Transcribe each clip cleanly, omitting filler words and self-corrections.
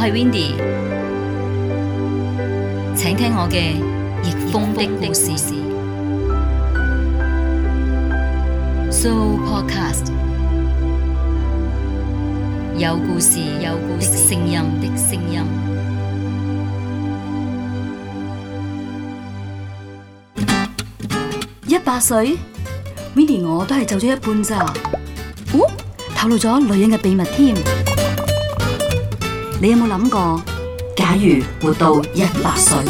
係 Windy， 請聽我嘅逆風的故事。So Podcast 有故事的聲音。100歲 ，Windy 我都係走咗一半咋？哦，透露咗女人嘅秘密添。你有冇諗過，假如活到100歲？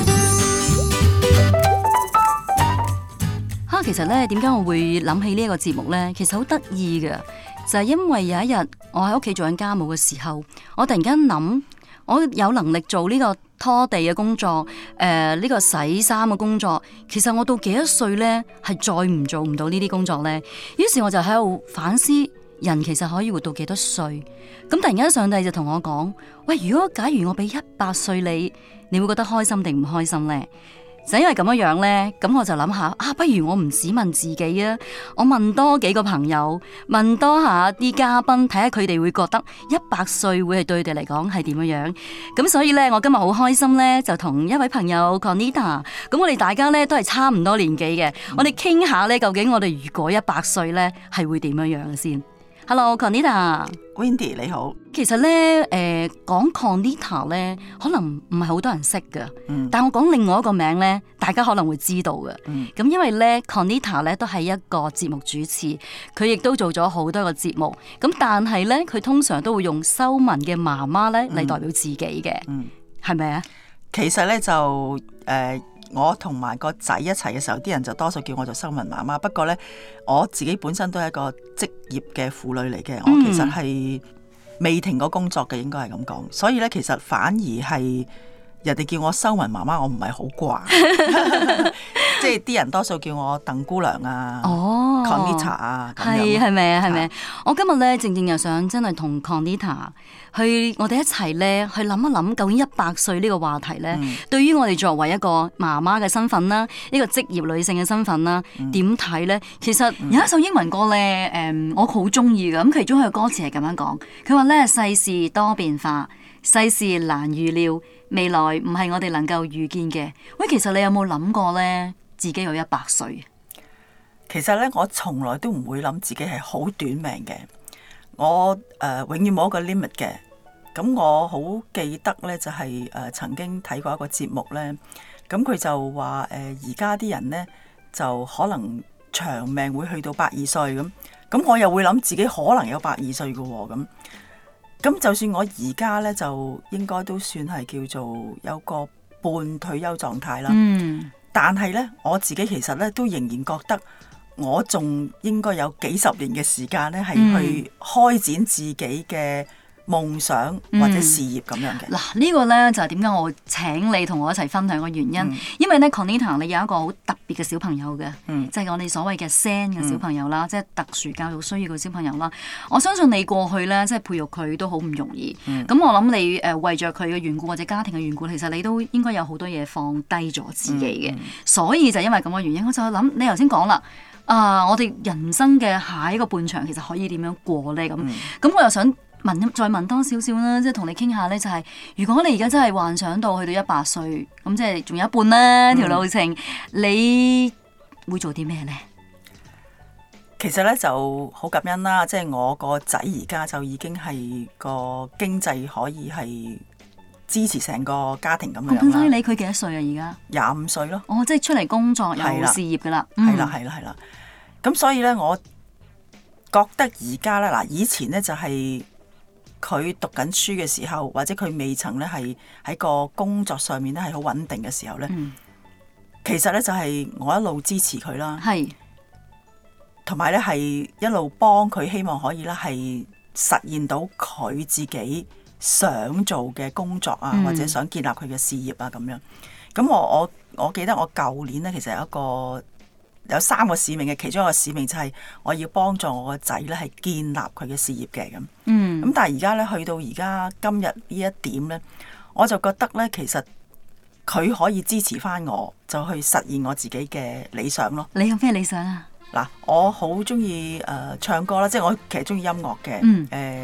其實咧，點解我會諗起呢一個節目呢？其實好得意嘅，就係因為有一日我喺屋企做緊家務嘅時候，我突然間諗，我有能力做呢個拖地嘅工作，呢個洗衫嘅工作，其實我到幾多歲呢？係再做唔到呢啲工作呢？於是我就喺度反思，人其實可以活到幾多歲？咁突然間上帝就同我講：喂，假如我俾100歲你會覺得開心定唔開心呢？就因為咁樣呢，咁我就諗下不如我唔只問自己啊，我問多幾個朋友，問多下啲嘉賓，睇下佢哋會覺得100歲會係對佢哋嚟講係點樣。咁所以呢，我今日好開心呢，就同一位朋友 Conita， 咁我哋大家呢都係差唔多年紀嘅，我哋傾下呢，究竟我哋如果100歲呢係會點樣嘅先。Hello Conita。Windy 你好。 其實咧，講 Conita 咧，可能唔係好多人識㗎。但我講另外一個名咧，大家可能會知道嘅。咁因為咧 Conita 咧都係一個節目主持，佢亦都做咗好多個節目。咁但係咧，佢通常都會用修文嘅媽媽咧嚟代表自己嘅，係咪啊？ 其實咧就我同埋個仔一齊嘅時候，啲人就多數叫我做修文媽媽。不過咧，我自己本身都係一個職業嘅婦女嚟嘅，我其實係未停過工作嘅，應該係咁講。所以咧，其實反而係人哋叫我修文媽媽，我唔係好慣。即係啲人多數叫我鄧姑娘啊，Conita 啊， 係咪啊？係咪？我今日咧正又想真係同 Conita 我哋一齊咧去諗一諗，究竟100歲呢個話題咧，對於我哋作為一個媽媽嘅身份啦，一個職業女性嘅身份啦，點睇咧？其實有一首英文歌咧，我好中意嘅，咁其中一個歌詞係咁樣講，佢話咧，世事多變化，世事難預料，未來唔係我哋能夠預見嘅。喂，其實你有冇諗過咧？自己有100歲， 其實咧，我從來都唔會諗自己係好短命嘅。我永遠冇一個 limit 嘅。咁我好記得咧，就係曾經睇過一個節目咧。咁佢就話而家啲人咧就可能長命會去到120歲咁。咁我又會諗自己可能有120歲嘅喎。咁就算我而家咧就應該都算係叫做有個半退休狀態啦。但係咧，我自己其實咧都仍然覺得我仲應該有幾十年嘅時間咧，係去開展自己嘅夢想或者事業咁樣嘅。 嗱，呢個咧就係點解我請你同我一齊分享嘅原因。因為咧 Conita 你有一個好特別嘅小朋友嘅，即係我哋所謂嘅 SEN 嘅小朋友啦，即係特殊教育需要嘅小朋友啦。我相信你過去咧，即係培育佢都好唔容易。咁我諗你為着佢嘅緣故或者家庭嘅緣故，其實你都應該有好多嘢放低咗自己嘅。所以就因為咁嘅原因，我就去諗，你頭先講啦。我哋人生嘅下一個半場其實可以點樣過咧？咁我又想再問多少少啦，即係同你傾下咧，就係如果你而家真係幻想到去到100歲，咁即係仲有一半啦條路程，你會做啲咩咧？ 其實咧就好感恩啦，即係我個仔而家就已經係個經濟可以係支持成個家庭咁樣啦。 咁所以佢幾多歲啊？而家 25歲咯。 即係出嚟工作有事業噶啦。 係啦。咁所以咧，我覺得而家咧，嗱，以前咧就係佢讀緊書嘅時候，或者佢未曾咧係喺個工作上面咧係好穩定嘅時候咧，其實咧就係我一路支持佢啦，同埋咧係一路幫佢，希望可以咧係實現到佢自己想做嘅工作啊，或者想建立佢嘅事業啊咁樣。咁我記得我舊年咧，其實有3個使命嘅，其中一個使命就係我要幫助我個仔咧係建立佢嘅事業嘅咁。咁但係而家咧去到而家今日呢一點咧，我就覺得咧其實佢可以支持翻我，就去實現我自己嘅理想咯。 你有咩理想啊？ 嗱，我好中意唱歌啦，即係我其實中意音樂嘅。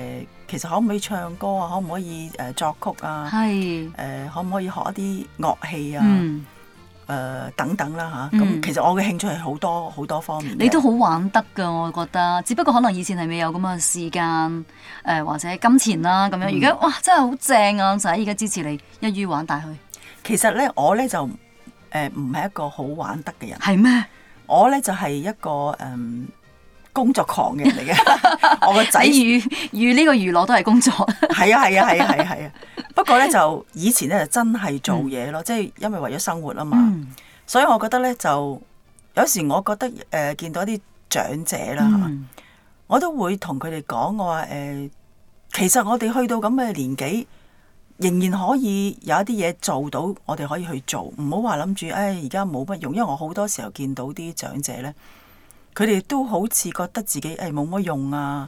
其實可唔可以唱歌啊？可唔可以作曲啊？ 係可唔可以學一啲樂器啊？等等啦嚇。咁其實我嘅興趣係好多好多方面嘅。 你都好玩得㗎，我覺得。只不過可能以前係未有咁嘅時間或者金錢啦咁樣。而家哇真係好正啊！就係而家支持你一於玩大去。 其實咧，我咧就唔係一個好玩得嘅人。 係咩？ 我咧就係一個工作狂嘅人嚟嘅。我個仔與呢個娛樂都係工作。 係啊。不過咧就以前咧就真係做嘢咯，即係因為為咗生活啊嘛。所以我覺得咧就有時我覺得見到啲長者啦我都會同佢哋講，我話其實我哋去到咁嘅年紀，仍然可以有一啲嘢做到，我哋可以去做，唔好話諗住而家冇乜用。因為我好多時候見到啲長者咧，佢哋都好似覺得自己冇乜用啊，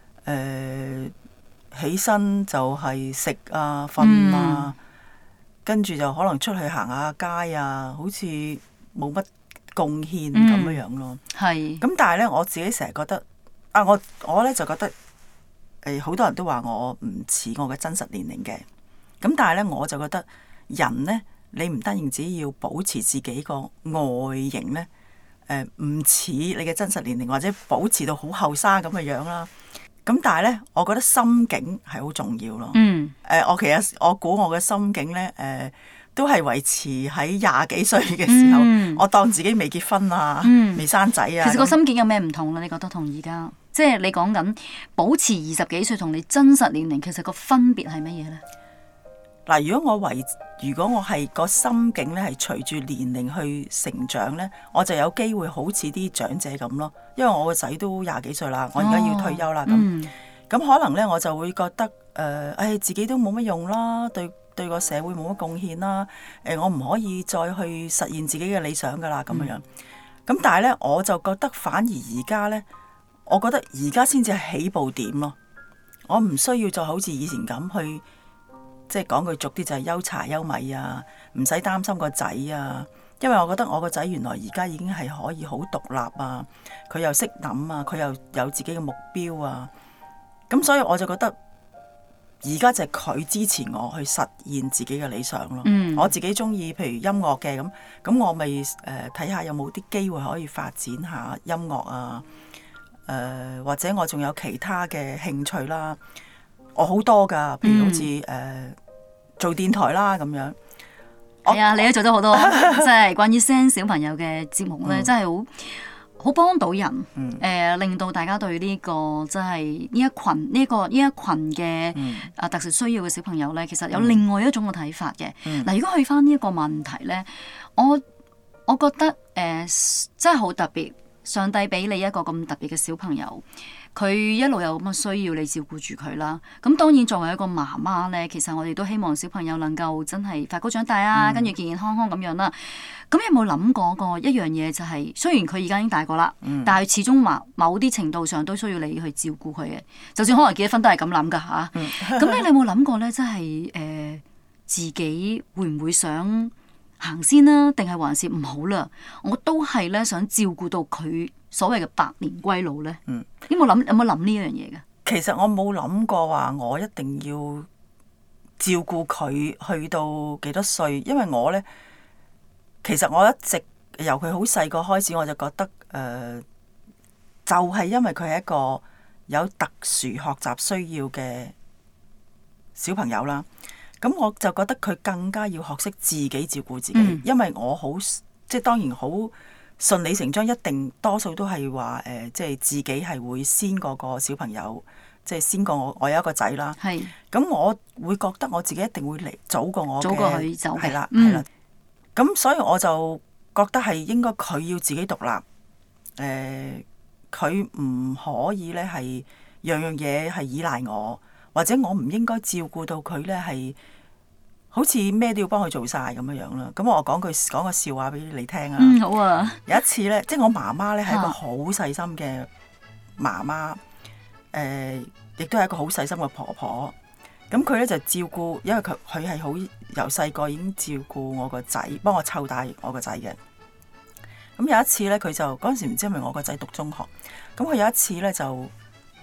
起身就係食啊、瞓啊，跟住就可能出去行下街啊，好似冇乜貢獻咁樣樣咯。 係。 咁但係咧，我自己成日覺得我咧就覺得好多人都話我唔似我嘅真實年齡嘅。咁但係咧，我就覺得人咧，你唔單止只要保持自己個外形咧，唔似你嘅真實年齡，或者保持到好後生咁嘅樣啦。咁但係咧，我覺得心境係好重要咯。我估我嘅心境咧，都係維持喺廿幾歲嘅時候，我當自己未結婚啊，未生仔啊。 其實個心境有咩唔同咧？你覺得同而家，即係你講緊保持20幾歲同你真實年齡，其實個分別係乜嘢咧？ 嗱，如果我係個心境咧，係隨住年齡去成長咧，我就有機會好似啲長者咁咯。因為我個仔都廿幾歲啦，我而家要退休啦，咁可能咧我就會覺得自己都冇乜用啦，對個社會冇乜貢獻啦，我唔可以再去實現自己嘅理想噶啦咁樣。咁但係咧，我就覺得反而而家咧，我覺得而家先至係起步點咯。我唔需要再好似以前咁去。即係講句俗啲就係憂柴憂米啊，唔使擔心個仔啊，因為我覺得我個仔原來而家已經係可以好獨立啊，佢又識諗啊，佢又有自己嘅目標啊，咁所以我就覺得而家就係佢支持我去實現自己嘅理想咯。我自己中意譬如音樂嘅咁我咪睇下有冇啲機會可以發展下音樂啊，或者我仲有其他嘅興趣啦。我好多㗎，譬如好似做電台啦咁樣。 係啊，你都做咗好多，即係關於 SEN 小朋友嘅節目咧，真係好幫到人。令到大家對呢個即係呢一群嘅特殊需要嘅小朋友咧，其實有另外一種嘅睇法嘅。嗱，如果去翻呢一個問題咧，我覺得真係好特別，上帝俾你一個咁特別嘅小朋友。佢一路有咁嘅需要，你照顧住佢啦。咁當然作為一個媽媽咧，其實我哋都希望小朋友能夠真係快高長大啊，跟住健健康康咁樣啦。咁有冇諗過個一樣嘢就係，雖然佢而家已經大個啦，但係始終某啲程度上都需要你去照顧佢嘅。就算可能結咗婚都係咁諗㗎嚇。咁你有冇諗過咧？即係自己會唔會想行先啦？定係還是唔好啦？我都係咧想照顧到佢。所謂嘅百年歸老咧，有冇諗呢樣嘢嘅？ 其實我冇諗過話我一定要照顧佢去到幾多歲，因為我咧，其實我一直由佢好細個開始，我就覺得就係因為佢係一個有特殊學習需要嘅小朋友啦。咁我就覺得佢更加要學識自己照顧自己，因為我好即係當然好。順理成章，一定多數都係話即係自己係會先過個小朋友，即係先過我有一個仔啦。係。咁我會覺得我自己一定會嚟早過我嘅。早過佢走。係啦，係啦。咁所以我就覺得係應該佢要自己獨立。佢唔可以咧係樣樣嘢係依賴我，或者我唔應該照顧到佢咧係。好似咩都要幫佢做晒咁樣樣啦，咁我講個笑話俾你聽啊。好啊。有一次咧，即係我媽媽咧係一個好細心嘅媽媽，亦都係一個好細心嘅婆婆。咁佢咧就照顧，因為佢係好由細個已經照顧我個仔，幫我湊大我個仔嘅。咁有一次咧，佢就嗰陣時唔知係咪我個仔讀中學，咁佢有一次咧就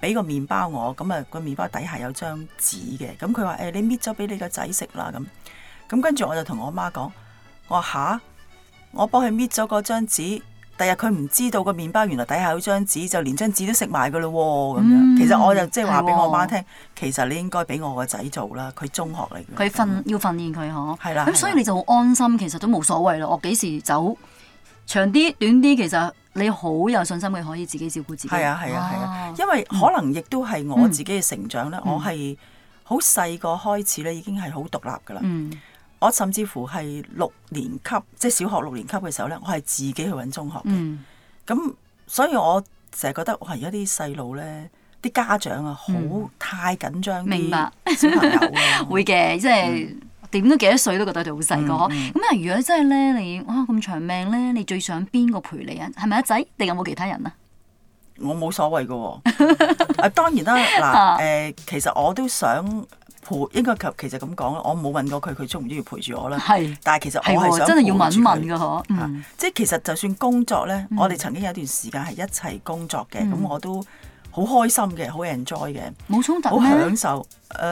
俾個麵包我，咁啊個麵包底下有張紙嘅，咁佢話你搣咗俾你個仔食啦咁跟住我就同我媽講，我話吓，我幫佢搣咗嗰張紙。第日佢唔知道個麵包原來底下有張紙，就連張紙都食埋噶咯喎咁樣。其實我就即係話俾我媽聽，其實你應該俾我個仔做啦，佢中學嚟嘅。 要訓練佢嗬。 係啦。 咁所以你就好安心，其實都冇所謂咯。我幾時走長啲短啲，其實你好有信心，佢可以自己照顧自己。 係啊，因為可能亦都係我自己嘅成長咧，我係好細個開始咧，已經係好獨立噶啦。我甚至乎係6年級，即係小學6年級嘅時候咧，我係自己去揾中學嘅。咁所以我成日覺得，哇！而家啲細路咧，啲家長啊，好太緊張啲小朋友啊。 會嘅，即係點都幾多歲都覺得佢好細個。咁啊，如果真係咧，你哇咁長命咧，你最想邊個陪你啊？係咪阿仔？定有冇其他人啊？ 我冇所謂嘅喎。當然啦，嗱其實我都想。應該其實咁講啦，我冇問過佢中唔中意陪住我啦。但係其實我係想真係要問問㗎嗬。 即係其實就算工作咧，我哋曾經有一段時間係一齊工作嘅，咁我都好開心嘅，好 enjoy 嘅。 冇衝突， 好享受。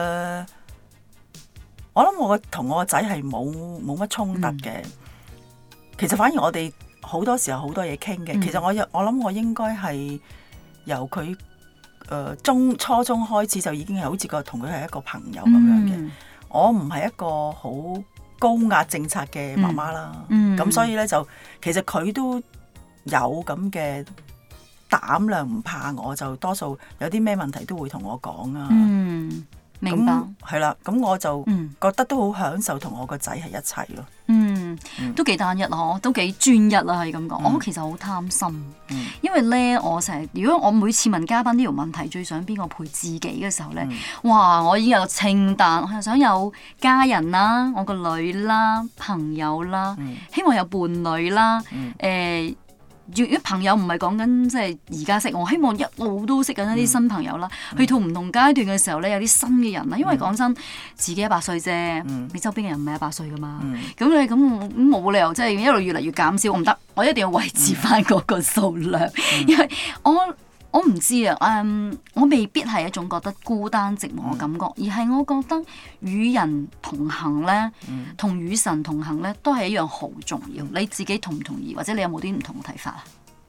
我諗我同我個仔係冇乜衝突嘅。其實反而我哋好多時候好多嘢傾嘅。其實我諗我應該係由佢。初中開始就已經係好似同佢係一個朋友咁樣嘅。我唔係一個好高壓政策嘅媽媽啦。咁所以咧就其實佢都有咁嘅膽量，唔怕我，就多數有啲咩問題都會同我講啊。 明白。 係啦，咁我就覺得都好享受同我個仔係一齊咯。 都幾單一嗬，都幾專一啦，係咁講。我其實好貪心，因為咧，我成日如果我每次問嘉賓呢條問題，最想邊個陪自己嘅時候咧，哇！我已經有個清單，我係想有家人啦，我個女啦，朋友啦，希望有伴侶啦，如果朋友唔係講緊即係而家識我，希望一路都識緊一啲新朋友啦。去到唔同階段嘅時候咧，有啲新嘅人啦。因為講真，自己18歲啫，你周邊嘅人唔係18歲噶嘛。咁你咁冇理由即係一路越嚟越減少，我唔得，我一定要維持翻嗰個數量。因為我唔知啊，我未必係一種覺得孤單寂寞嘅感覺，而係我覺得與人同行咧，同與神同行咧，都係一樣好重要。你自己同唔同意，或者你有冇啲唔同嘅睇法啊？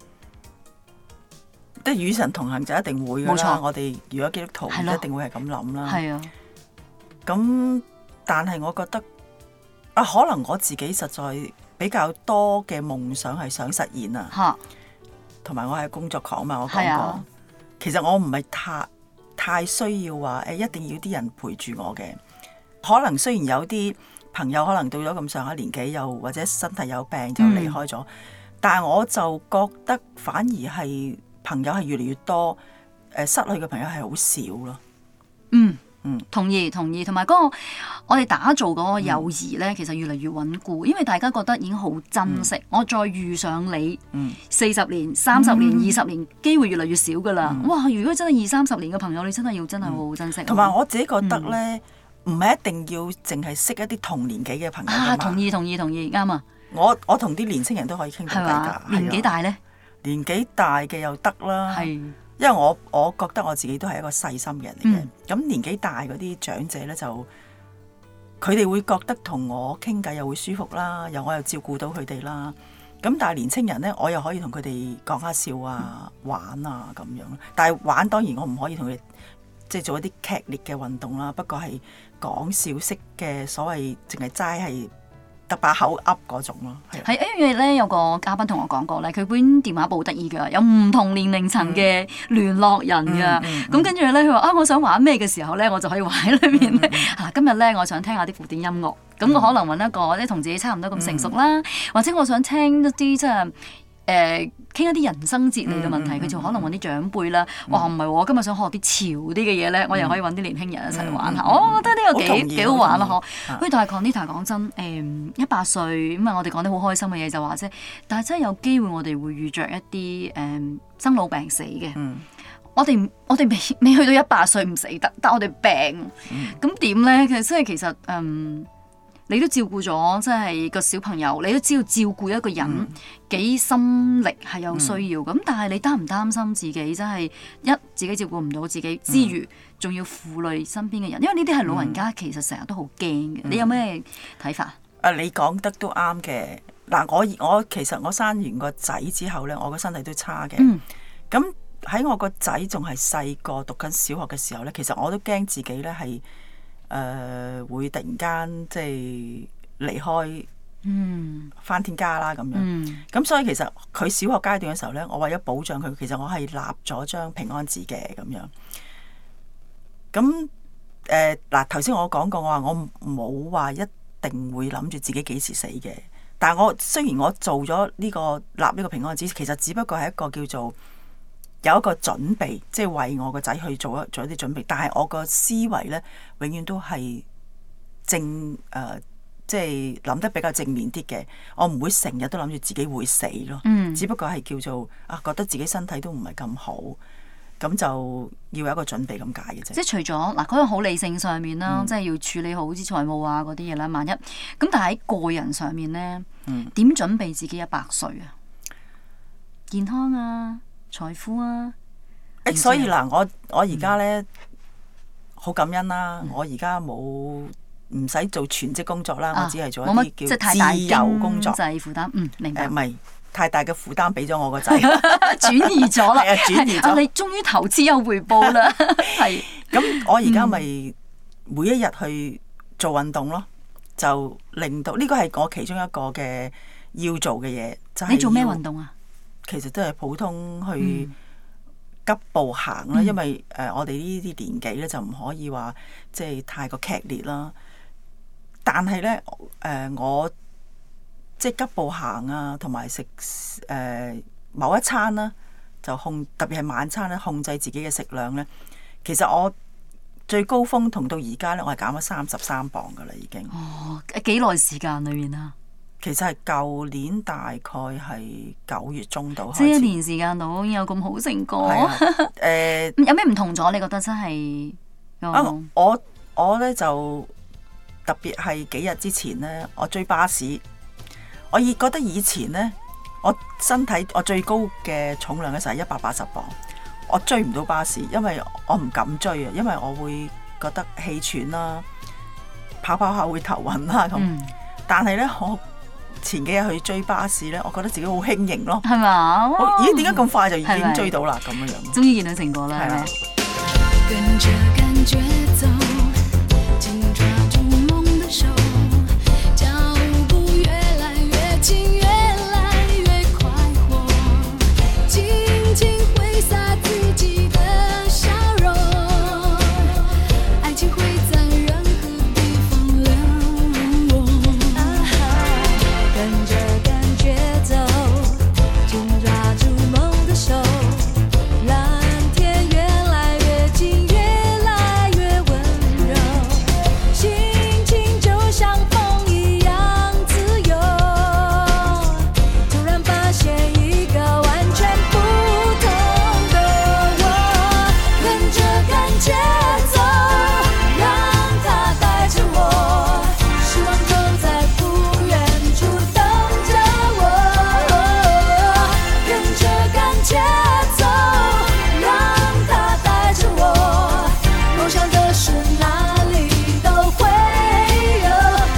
即係與神同行就一定會㗎啦。 冇錯， 我哋如果基督徒一定會係咁諗啦。 係啊。 咁但係我覺得可能我自己實在比較多嘅夢想係想實現啊。同埋我係工作狂嘛，我講過。其實我唔係太需要話一定要啲人陪住我嘅。可能雖然有啲朋友可能到咗咁上下年紀，又或者身體有病就離開咗，但係我就覺得反而係朋友係越嚟越多，失去嘅朋友係好少咯。 同意，同埋嗰個我哋打造嗰個友誼咧，其實越嚟越穩固，因為大家覺得已經好珍惜。我再遇上你，40年、30年、20年，機會越嚟越少噶啦。哇！如果真係20-30年嘅朋友，你真係好好珍惜。 同埋我自己覺得咧，唔係一定要淨係識一啲同年紀嘅朋友㗎嘛。 同意，啱啊！ 我同啲年青人都可以傾到偈㗎。 年紀大咧？ 年紀大嘅又得啦。因為我覺得我自己都係一個細心嘅人嚟嘅，咁年紀大嗰啲長者咧，就佢哋會覺得同我傾偈又會舒服啦，我又照顧到佢哋啦。咁但係年青人咧，我又可以同佢哋講下笑啊、玩啊咁樣。但係玩當然我唔可以同佢哋即係做一啲劇烈嘅運動啦，不過係講笑式嘅所謂，淨係齋係得把口噏嗰種咯。 係因為咧有個嘉賓同我講過咧，佢本電話簿得意㗎，有唔同年齡層嘅聯絡人㗎。咁跟住咧，佢話我想玩咩嘅時候咧，我就可以玩喺裏面咧。今日咧我想聽下啲古典音樂，咁我可能揾一個即同自己差唔多咁成熟啦，或者我想聽一啲即係傾一啲人生哲理嘅問題，佢就可能揾啲長輩啦。哇，唔係我今日想學啲潮啲嘅嘢咧，我又可以揾啲年輕人一齊玩下。我覺得呢個幾好玩咯，嗬。喂，但係 Conita 講真，18歲咁啊，我哋講啲好開心嘅嘢就話啫。但係真係有機會，我哋會遇着一啲生老病死嘅。我哋未去到18歲唔死得，但我哋病咁點咧？其實你都照顧咗，即係個小朋友，你都知道照顧一個人幾心力係有需要咁，但係你擔唔擔心自己真係自己照顧唔到自己之餘，仲要負累身邊嘅人？因為呢啲係老人家其實成日都好驚嘅。你有咩睇法？ 你講得都啱嘅。嗱，我其實我生完個仔之後咧，我個身體都差嘅。咁喺我個仔仲係細個讀緊小學嘅時候咧，其實我都驚自己咧係會突然間即係離開，返天家啦咁樣。咁所以其實佢小學階段嘅時候咧，我為咗保障佢，其實我係立咗張平安紙嘅咁樣。咁嗱，頭先我講過，我話我冇話一定會諗住自己幾時死嘅。但係我雖然我做咗呢個立呢個平安紙，其實只不過係一個叫做有一個準備，即係為我個仔去做一啲準備。但係我個思維咧，永遠都係即係諗得比較正面啲嘅。我唔會成日都諗住自己會死咯。只不過係叫做覺得自己身體都唔係咁好，咁就要有一個準備咁解嘅啫。 即係除咗嗱嗰個好理性上面啦，即係要處理好啲財務啊嗰啲嘢啦。萬一咁，但係喺個人上面咧，點準備自己100歲啊？健康啊，財富啊。 所以嗱，我而家咧好感恩啦。我而家唔使做全職工作啦，我只係做一啲叫自由工作。 就係負擔，明白。 唔係太大嘅負擔俾咗我個仔， 轉移咗啦。 轉移咗。 你終於投資有回報啦。係。 咁我而家咪每一日去做運動咯，就令到呢個係我其中一個嘅要做嘅嘢。就係你做咩運動啊？ 其實都係普通去急步行啦，因為我哋呢啲年紀咧就唔可以話即係太過劇烈啦。但係咧我即係急步行啊，同埋食某一餐啦，就特別係晚餐咧，控制自己嘅食量咧。其實我最高峰同到而家咧，我係減咗33磅噶啦，已經。 哦，幾耐時間裏面啊？ 其實係舊年大概係9月中度開始， 即係1年時間度已經有咁好成果。有咩唔同咗？你覺得真係？ 我咧就特別係幾日之前咧，我追巴士。我覺得以前咧，我身體我最高嘅重量嘅時候係180磅，我追唔到巴士，因為我唔敢追啊，因為我會覺得氣喘啦，跑下會頭暈啦咁。但係咧，我前幾日去追巴士咧，我覺得自己好輕盈咯， 係嘛？ 咦，點解咁快就已經追到啦？咁樣樣， 終於見到成果啦，係咪？ 跟着感覺走，緊抓住夢的手，腳步越來越近，越來越快活，輕輕揮灑自己的笑容，愛情會在任何地方流動。跟着感覺走，緊抓住夢的手，藍天越來越近，越來越溫柔，心情就像風一樣自由，突然發現一個完全不同的我，跟着感覺走，讓它帶着我，希望就在不遠處等着我，跟着感覺走，讓它帶着我，夢想的事哪裡都會有。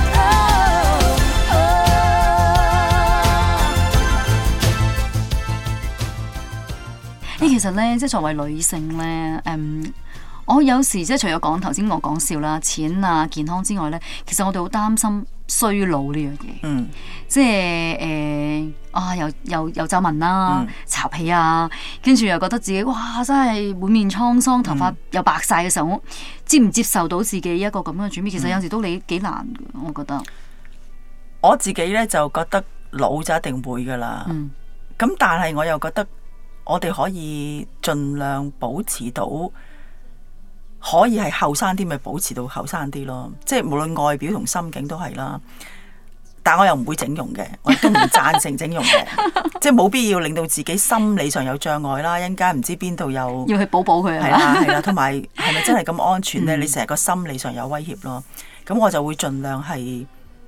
其實咧，即係作為女性咧，我有時即係除咗講頭先我講笑啦、錢啊、健康之外咧，其實我哋好擔心衰老呢樣嘢。即係又皺紋啦、巢皮啊，跟住又覺得自己哇真係滿面滄桑，頭髮又白晒嘅時候，接唔接受到自己一個咁樣嘅轉變？其實有時都幾難嘅，我覺得。 我自己咧就覺得老就一定會噶啦。咁但係我又覺得我哋可以盡量保持到，可以係後生啲咪保持到後生啲咯。即係無論外表同心境都係啦。但我又唔會整容嘅，我亦都唔贊成整容嘅，即係冇必要令到自己心理上有障礙啦。一陣間唔知邊度又要去補佢係啦係啦，同埋係咪真係咁安全咧？你成日個心理上有威脅咯。咁我就會盡量係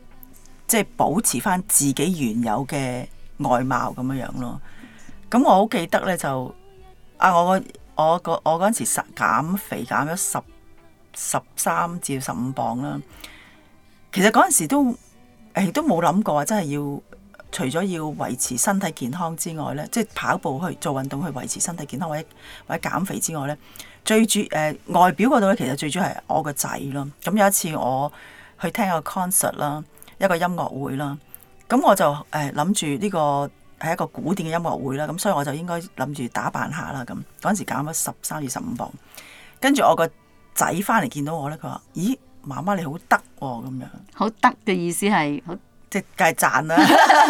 即係保持翻自己原有嘅外貌咁樣樣咯。咁我好記得咧就我嗰陣時減肥減咗13至15磅啦。其實嗰陣時都冇諗過真係要除咗要維持身體健康之外咧，即係跑步去做運動去維持身體健康或者減肥之外咧，外表嗰度咧其實最主要係我個仔咯。咁有一次我去聽個 concert 啦，一個音樂會啦，咁我就諗住呢個係一個古典嘅音樂會啦，咁所以我就應該諗住打扮下啦。咁嗰陣時減咗13至15磅，跟住我個仔翻嚟見到我咧，佢話：咦，媽媽你好得喎咁樣。 好得嘅意思係好， 即係梗係讚啦。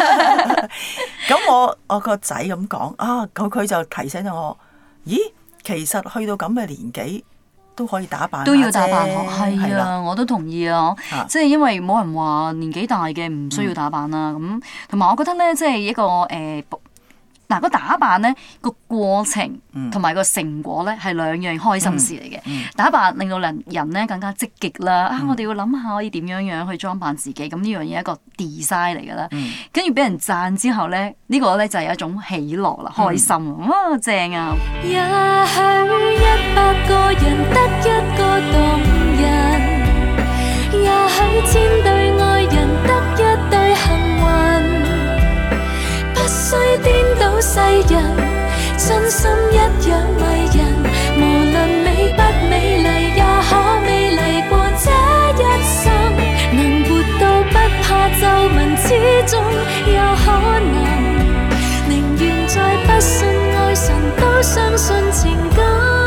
咁我個仔咁講啊，佢就提醒咗我：咦，其實去到咁嘅年紀都可以打扮， 都要打扮係啊，我都同意啊。即係因為冇人話年紀大嘅唔需要打扮啦。咁同埋我覺得咧，即係一個個打扮咧個過程同埋個成果咧係兩樣開心事嚟嘅。打扮令到人咧更加積極啦。我哋要諗下可以點樣去裝扮自己。咁呢樣嘢係一個 design 嚟㗎啦。跟住俾人讚之後咧，呢個咧就係一種喜樂啦，開心啊，正啊！ 也許100個人得一個動人，也許千對愛人得一對幸運。不需顛倒世人，真心一樣迷人。無論美不美麗，也可美麗過這一生。能活到不怕皺紋，始終有可能。寧願再不信愛神，都相信情感。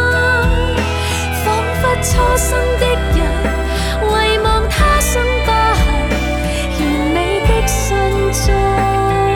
彷彿初生的人，遺忘他生疤痕，完美的信眾。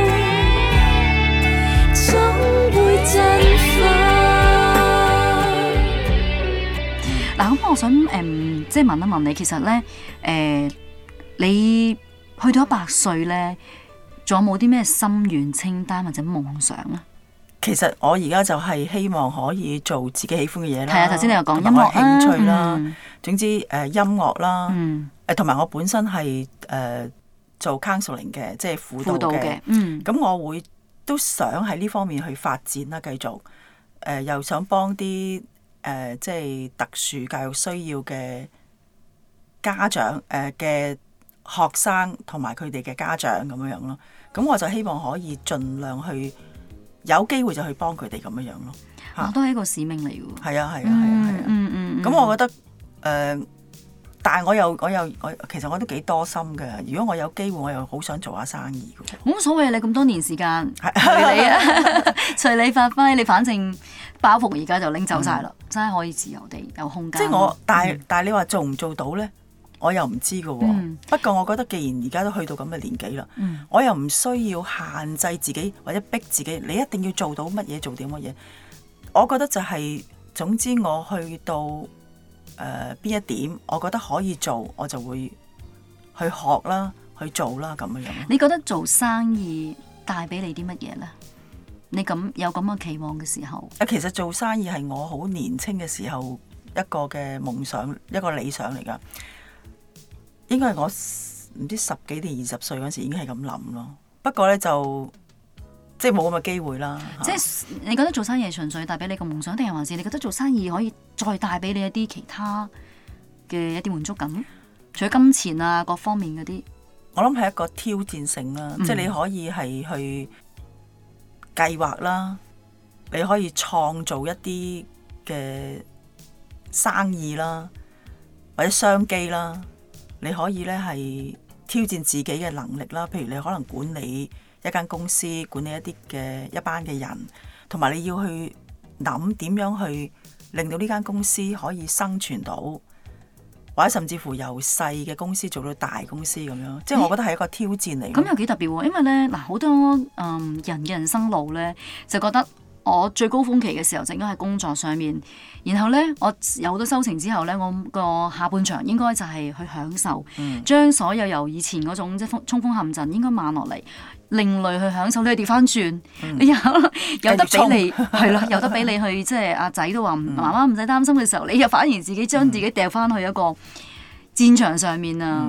嗱，咁我想即係問一問你，其實咧你去到100歲咧，仲有冇啲咩心願清單或者夢想啊？ 其實我而家就係希望可以做自己喜歡嘅嘢啦。 係啊，頭先你又講音樂興趣啦，總之音樂啦，同埋我本身係做 counseling 嘅，即係輔導嘅。咁我會都想喺呢方面去發展啦，繼續又想幫啲即係特殊教育需要嘅家長嘅學生同埋佢哋嘅家長咁樣咯。咁我就希望可以盡量去有機會就去幫佢哋咁樣咯。 都係一個使命嚟㗎。 係啊。咁我覺得但係我其實我都幾多心嘅。如果我有機會，我又好想做下生意嘅。 冇所謂，你咁多年時間隨你啊，隨你發揮。你反正包袱而家就拎走晒啦，真係可以自由地有空間。 即係但係你話做唔做到咧？我又唔知嘅喎。不過我覺得既然而家都去到咁嘅年紀啦，我又唔需要限制自己或者逼自己，你一定要做到乜嘢做啲乜嘢。我覺得就係總之我去到邊一點，我覺得可以做，我就會去學啦，去做啦，咁樣。 你覺得做生意帶俾你啲乜嘢咧？你有咁嘅期望嘅時候？ 其實做生意係我好年輕嘅時候一個嘅夢想，一個理想嚟㗎。應該係我唔知10幾定20歲嗰時已經係咁諗咯。不過咧就即係冇咁嘅機會啦。 即係你覺得做生意係純粹帶俾你個夢想，定係還是你覺得做生意可以再帶俾你一啲其他嘅一啲滿足感？除咗金錢啊各方面嗰啲， 我諗係一個挑戰性啦。即係你可以係去計劃啦，你可以創造一啲嘅生意啦，或者商機啦。你可以咧係挑戰自己嘅能力啦，譬如你可能管理一間公司，管理一班嘅人，同埋你要去諗點樣去令到呢間公司可以生存到，或者甚至乎由細嘅公司做到大公司咁樣。即係我覺得係一個挑戰嚟。 咁又幾特別喎，因為咧嗱，好多人嘅人生路咧就覺得我最高峰期嘅時候就應該喺工作上面，然後咧我有好多收成之後咧，我個下半場應該就係去享受，將所有由以前嗰種即係衝鋒陷陣應該慢落嚟，另類去享受。你係調翻轉，你有得俾你係咯，有得俾你去即係阿仔都話媽媽唔使擔心嘅時候，你又反而自己將自己掉翻去一個戰場上面啊！咁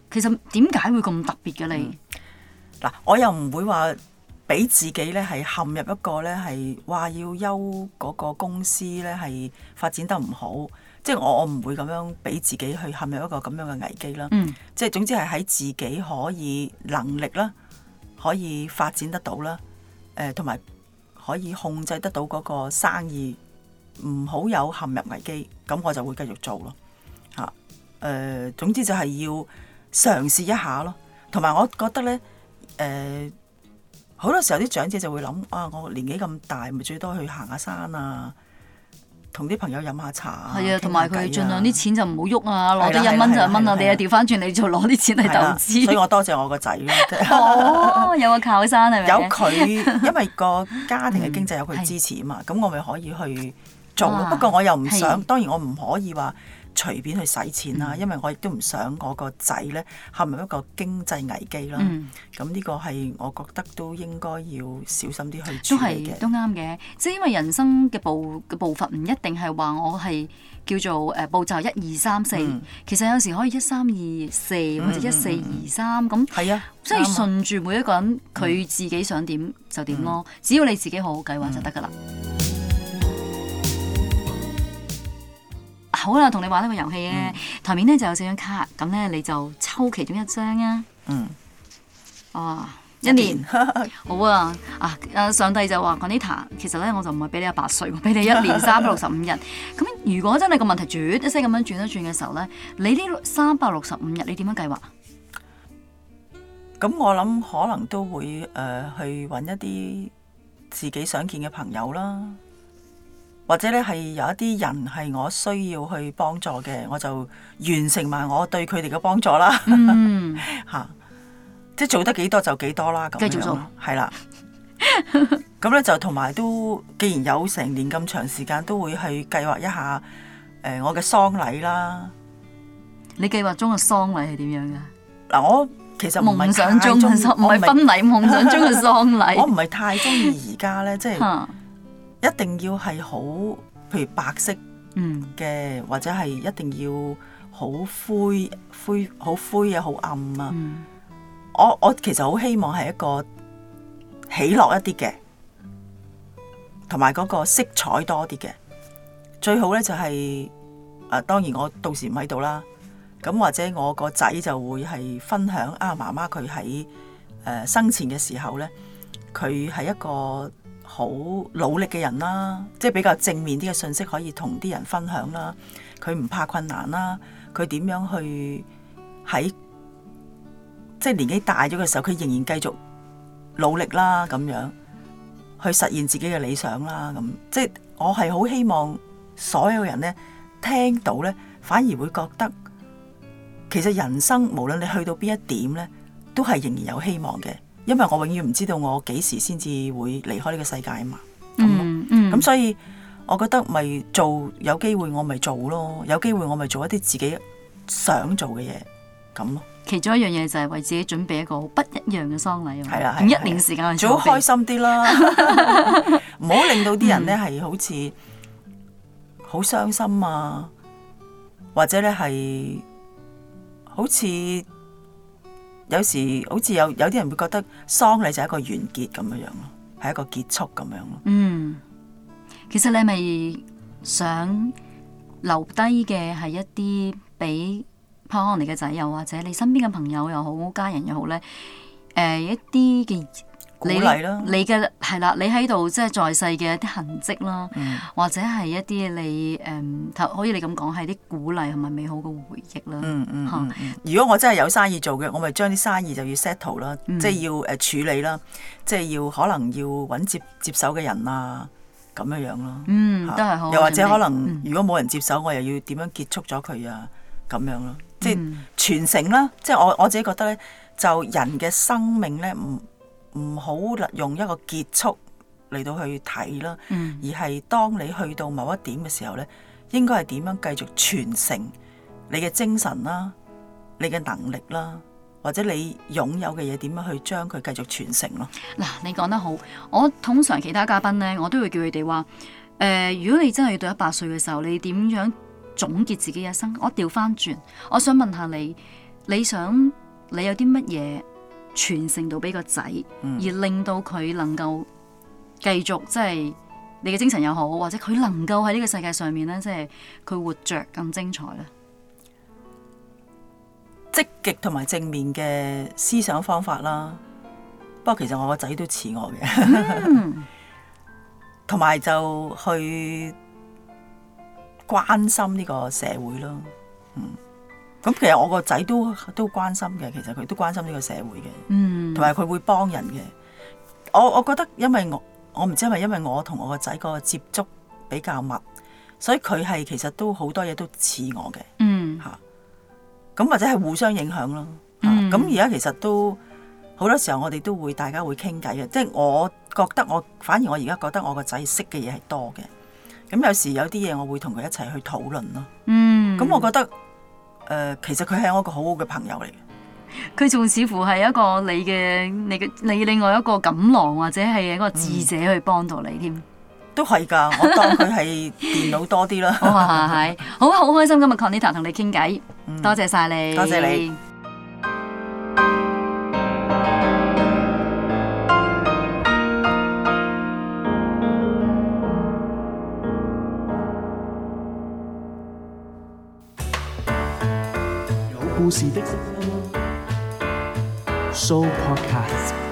其實點解會咁特別嘅你？ 嗱，我又唔會話俾自己咧係陷入一個咧係話要休嗰個公司咧係發展得唔好，即係我唔會咁樣俾自己去陷入一個咁樣嘅危機啦。即係總之係喺自己可以能力啦，可以發展得到啦，同埋可以控制得到嗰個生意，唔好有陷入危機，咁我就會繼續做咯。總之就係要嘗試一下咯。同埋我覺得咧，好多時候啲長者就會諗啊，我年紀咁大，咪最多去行下山啊，同啲朋友飲下茶啊。 係啊，同埋佢盡量啲錢就唔好喐啊，攞啲1蚊就1蚊啊，你又調翻轉你就攞啲錢嚟投資。 所以我多謝我個仔咯。 哦，有個靠山係咪？ 有佢，因為個家庭嘅經濟有佢支持啊嘛，咁我咪可以去做咯。不過我又唔想，當然我唔可以話隨便去使錢啦，因為我亦都唔想我個仔咧陷入一個經濟危機啦。咁呢個係我覺得都應該要小心啲去處理嘅。 都啱嘅，即係因為人生嘅步伐唔一定係話我係叫做步驟1、2、3、4，其實有時可以1、3、2、4或者1、4、2、3咁。係啊，即係順住每一個人佢自己想點就點咯，只要你自己好好計劃就得㗎啦。好啦，同你玩呢個遊戲咧，台面咧就有4張卡，咁咧你就抽其中1張啊。1年好啊！上帝就話 Juanita， 其實咧我就唔係俾你100歲，我俾你1年365日。咁如果真係個問題轉一聲咁樣轉一轉嘅時候咧，你呢365日你點樣計劃？ 咁我諗可能都會去揾一啲自己想見嘅朋友啦。或者咧係有一啲人係我需要去幫助嘅，我就完成埋我對佢哋嘅幫助啦。即係做得幾多就幾多啦，咁樣繼續做係啦。咁咧就同埋都，既然有成年咁長時間，都會去計劃一下我嘅喪禮啦。 你計劃中嘅喪禮係點樣噶？ 嗱，我其實唔係夢想中嘅喪，唔係婚禮，夢想中嘅喪禮。 我唔係太中意而家咧，即係。一定要係好，譬如白色嘅，或者係一定要好灰啊，好暗啊。我其實好希望係一個喜樂一啲嘅，同埋嗰個色彩多啲嘅。最好咧就係當然我到時唔喺度啦。咁或者我個仔就會係分享媽媽佢喺生前嘅時候咧，佢係一個好努力嘅人啦，即係比較正面啲嘅信息可以同啲人分享啦。佢唔怕困難啦，佢點樣去喺即係年紀大咗嘅時候，佢仍然繼續努力啦，咁樣去實現自己嘅理想啦。咁即係我係好希望所有人咧聽到咧，反而會覺得其實人生無論你去到邊一點咧，都係仍然有希望嘅。因為我永遠唔知道我幾時先至會離開呢個世界啊嘛，咁所以我覺得咪做，有機會我咪做咯，有機會我咪做一啲自己想做嘅嘢咁咯。 其中一樣嘢就係為自己準備一個不一樣嘅喪禮， 係啦， 用1年時間去做好開心啲啦，唔好令到啲人咧係好似好傷心啊，或者咧係好似。有時好似有啲人會覺得喪禮就係一個完結咁樣樣咯，係一個結束咁樣咯。 其實你係咪想留低嘅係一啲俾可能你嘅仔又或者你身邊嘅朋友又好，家人又好咧？一啲嘅鼓勵啦，你嘅係啦，你喺度即係在世嘅一啲痕跡啦，或者係一啲你可以你咁講係啲鼓勵同埋美好嘅回憶啦。 如果我真係有生意做嘅，我咪將啲生意就要 settle 啦，即係要處理啦，即係要可能要揾接手嘅人啊，咁樣樣咯。 都係好。 又或者可能如果冇人接手，我又要點樣結束咗佢啊？咁樣咯，即係傳承啦。即係我自己覺得咧，就人嘅生命咧唔好用一個結束嚟到去睇啦，而係當你去到某一點嘅時候咧，應該係點樣繼續傳承你嘅精神啦、你嘅能力啦，或者你擁有嘅嘢點樣去將佢繼續傳承咯。 嗱，你講得好，我通常其他嘉賓咧，我都會叫佢哋話，如果你真係要到100歲嘅時候，你點樣總結自己一生？我調翻轉，我想問下你。 你想你有啲乜嘢傳承到俾個仔，而令到佢能夠繼續即係你嘅精神又好，或者佢能夠喺呢個世界上面咧，即係佢活着更精彩咧？ 積極同埋正面嘅思想方法啦。不過其實我個仔都似我嘅，同埋就去關心呢個社會咯。咁其實我個仔都關心嘅，其實佢都關心呢個社會嘅，同埋佢會幫人嘅。我覺得因為我唔知係咪因為我同我個仔個接觸比較密，所以佢係其實都好多嘢都似我嘅。咁或者係互相影響咯。咁而家其實都好多時候我哋都會大家會傾偈嘅，即係我覺得反而我而家覺得我個仔識嘅嘢係多嘅。咁有時有啲嘢我會同佢一齊去討論咯。咁我覺得其實佢係我一個好好嘅朋友嚟嘅。 佢仲似乎係一個你另外一個錦囊，或者係一個智者去幫到你添。 都係㗎，我當佢係電腦多啲啦。 哇，係好開心今日 Conita 同你傾偈，多謝晒你， 多謝你。 有故事的聲音 Show Podcast。